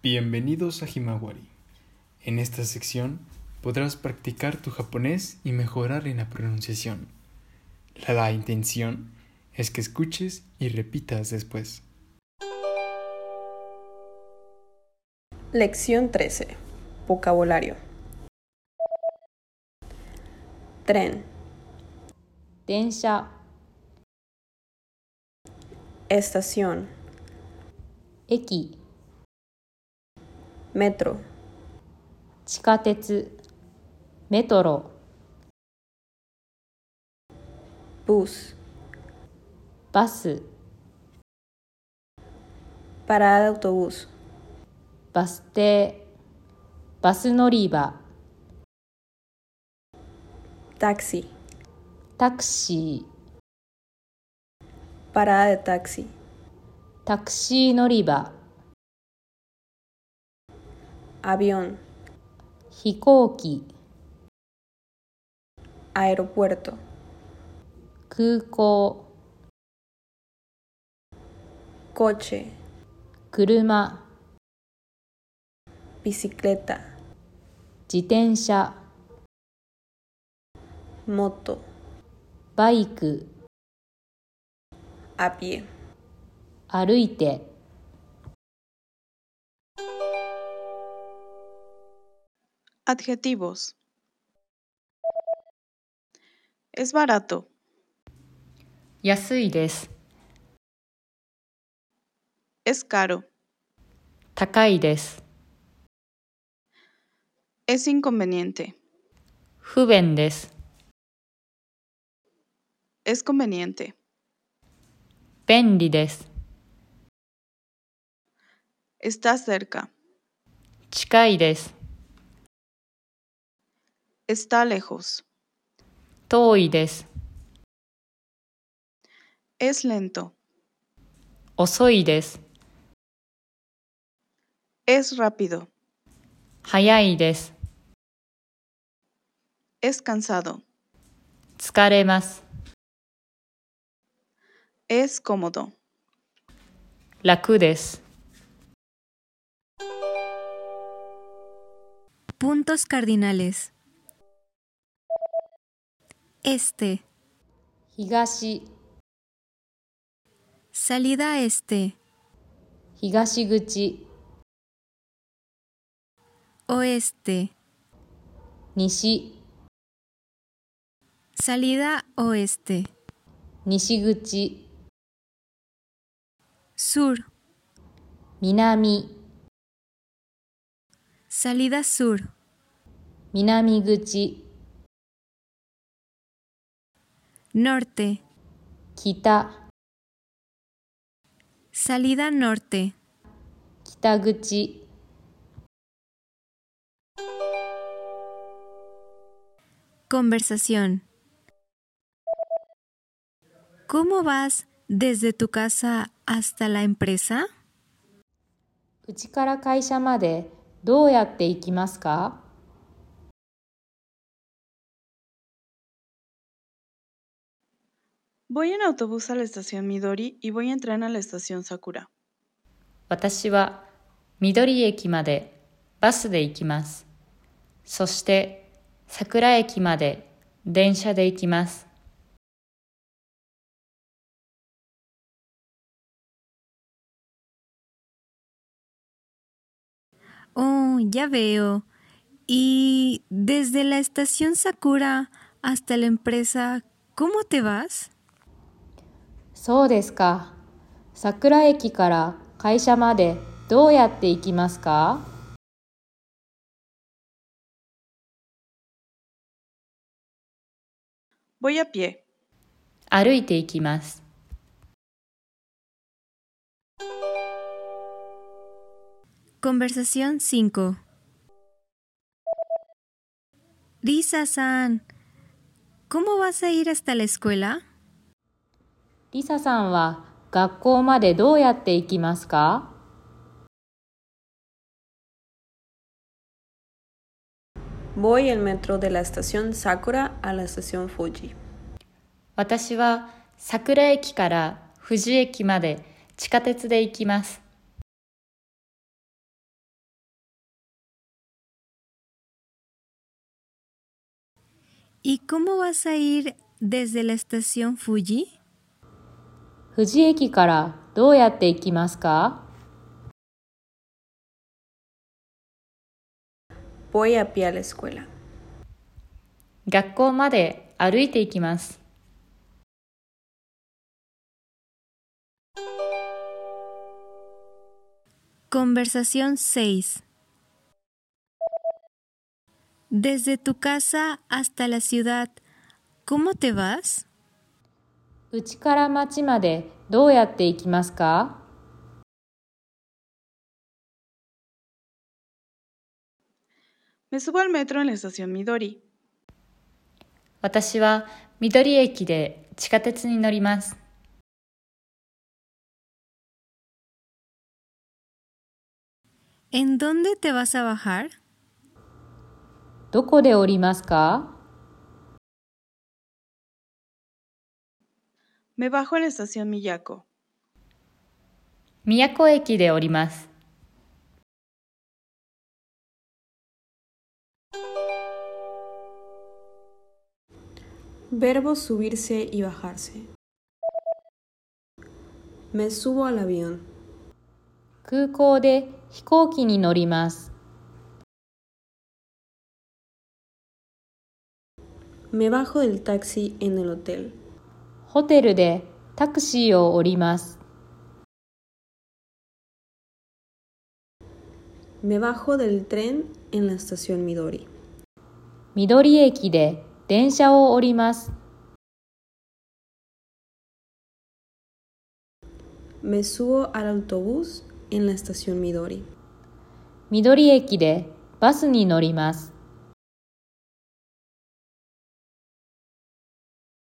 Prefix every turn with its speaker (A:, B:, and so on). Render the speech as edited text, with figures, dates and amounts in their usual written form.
A: Bienvenidos a Himawari. En esta sección podrás practicar tu japonés y mejorar en la pronunciación. La intención es que escuches y repitas después.
B: Lección 13. Vocabulario. Tren,
C: 電車、
B: estación,
C: 駅、
B: metro,
C: 地下鉄、メトロ、
B: bus,
C: バス、
B: parada de autobús,
C: バス停、バス乗り場、
B: taxi,
C: タクシー、
B: parada de taxi,
C: タクシー乗り場、
B: avión,
C: 飛行機、
B: aeropuerto,
C: 空港、
B: coche,
C: 車、
B: bicicleta,
C: 自転車、
B: moto,
C: バイク、
B: a pie.
C: 歩いて。
D: Adjetivos. Es barato.
C: 安いです。
D: Es caro.
C: 高いです。
D: Es inconveniente.
C: 不便です。
D: Es conveniente.
C: 便利です。
D: Está cerca.
C: 近いです。
D: Está lejos.
C: 遠いです。
D: Es lento.
C: 遅いです。
D: Es rápido.
C: 早いです。
D: Es cansado.
C: 疲れます。
D: Es cómodo.
C: 楽です。
E: Puntos cardinales. Este,
C: 東、
E: salida este,
C: 東口、
E: oeste,
C: 西、
E: salida oeste,
C: 西口、
E: sur,
C: 南、
E: salida sur,
C: 南口、
E: norte,
C: 北、
E: salida norte,
C: 北口。
E: conversación. ¿Cómo vas desde tu casa hasta la empresa?
C: うちから会社までどうやって行きますか？
D: Voy en autobús a la estación Midori y voy en tren a la estación Sakura.
C: 私は緑駅までバスで行きます。そして桜駅まで電車で行きます。
E: Oh, ya veo. ¿Y desde la estación Sakura hasta la empresa, cómo te vas?
C: そうですか。桜駅から会社までどうやって行きますか？
D: Voy a pie.
C: 歩いて行きます。
E: Conversación 5. Risa-san, ¿cómo vas a ir hasta la escuela?
C: リサさんは学校までどうやって行きますか？
B: Voy en metro de la estación Sakura a la estación Fuji.
C: 私は桜駅から富士駅まで地下鉄で行きます。
E: ¿Y cómo vas a ir desde la estación Fuji?
C: 富士駅からどうやって行きますか？
B: Voy a pie a la escuela.
C: 学校まで歩いて行きます。
E: Conversación 6. Desde tu casa hasta la ciudad, ¿cómo te vas?
C: うちから町までどうやって行きますか？
D: Me subo al metro en la estación Midori.
C: 私は緑駅で地下鉄に乗ります。
E: ¿En dónde te vas a bajar?
C: どこで降りますか？
D: Me bajo en la estación Miyako.
C: 宮古駅で降ります。
B: Verbo subirse y bajarse. Me subo al avión.
C: 空港で飛行機に乗ります。
B: Me bajo del taxi en el hotel.
C: ホテルでタクシーを降ります。
B: Me bajo del tren en la estación Midori.
C: 緑駅で電車を降ります。
B: Me subo al autobús en la estación Midori.
C: 緑駅でバスに乗ります。